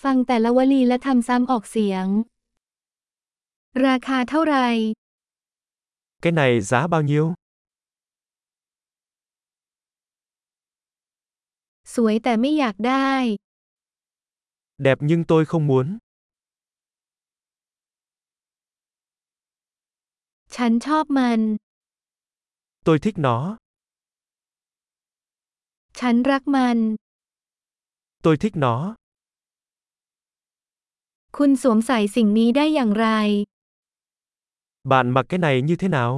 ฟังแต่ละวลีและทำซ้ำออกเสียง ราคาเท่าไหร่ Cái này giá bao nhiêu? สวยแต่ไม่อยากได้ Đẹp nhưng tôi không muốn. ฉันชอบมัน Tôi thích nó. ฉันรักมัน Tôi thích nó. คุณสวมใส่สิ่งนี้ได้อย่างไร Bạn mặc cái này như thế nào?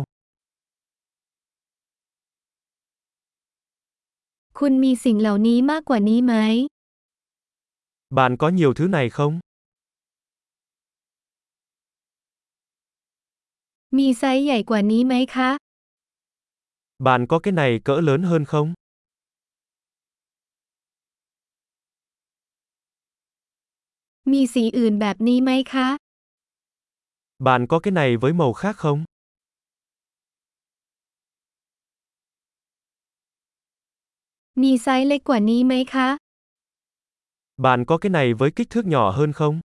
คุณมีสิ่งเหล่านี้มากกว่านี้ไหม Bạn có nhiều thứ này không? มีไซส์ใหญ่กว่านี้ไหมคะ Bạn có cái này cỡ lớn hơn không? มีสีอื่นแบบนี้ไหมคะ Bạn có cái này với màu khác không? มีไซส์เล็กกว่านี้ไหมคะ Bạn có cái này với kích thước nhỏ hơn không?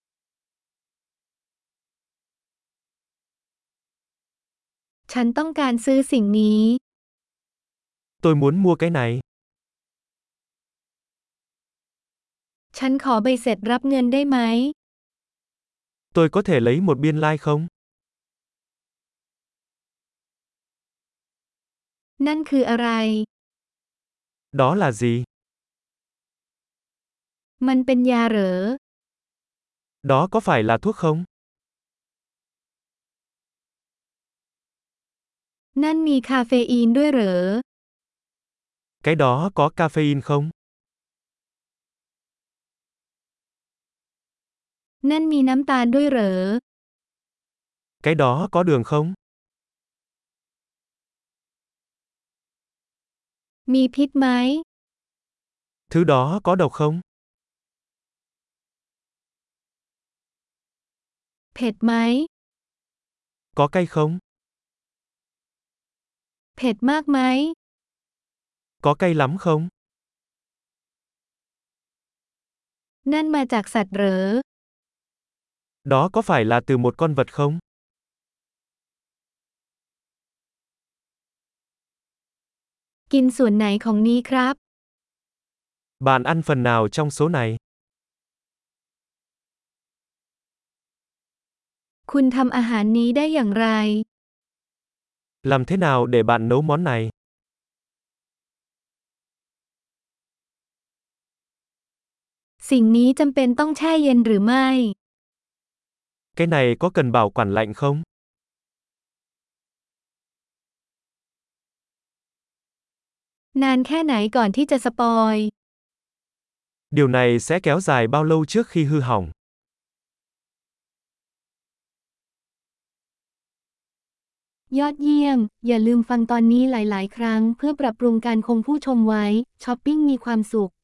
ฉันต้องการซื้อสิ่งนี้ Tôi muốn mua cái này. ฉันขอใบเสร็จรับเงินได้ไหม Tôi có thể lấy một biên lai không? นั่นคืออะไร Đó là gì? มันเป็นยาเหรอ Đó có phải là thuốc không? นั่นมีคาเฟอีนด้วยเหรอ Cái đó có caffeine không? นั่นมีน้ำตาลด้วยเหรอ Cái đó có đường không? มีพิษไหม Thứ đó có độc không? เผ็ดไหม Có cay không? เผ็ดมากไหม Có cay lắm không? นั่นมาจากสัตว์เหรอ Đó có phải là từ một con vật không? กินส่วนไหนของนี้ครับ Bạn ăn phần nào trong số này? คุณทำอาหารนี้ได้อย่างไร Làm thế nào để bạn nấu món này? สิ่งนี้จำเป็นต้องแช่เย็นหรือไม่ Cái này có cần bảo quản lạnh không? นานแค่ไหนก่อนที่จะสปอย Điều này sẽ kéo dài bao lâu trước khi hư hỏng? ยอดเยี่ยม อย่าลืมฟังตอนนี้หลาย ๆ ครั้งเพื่อปรับปรุงการคงผู้ชมไว้ ช้อปปิ้งมีความสุข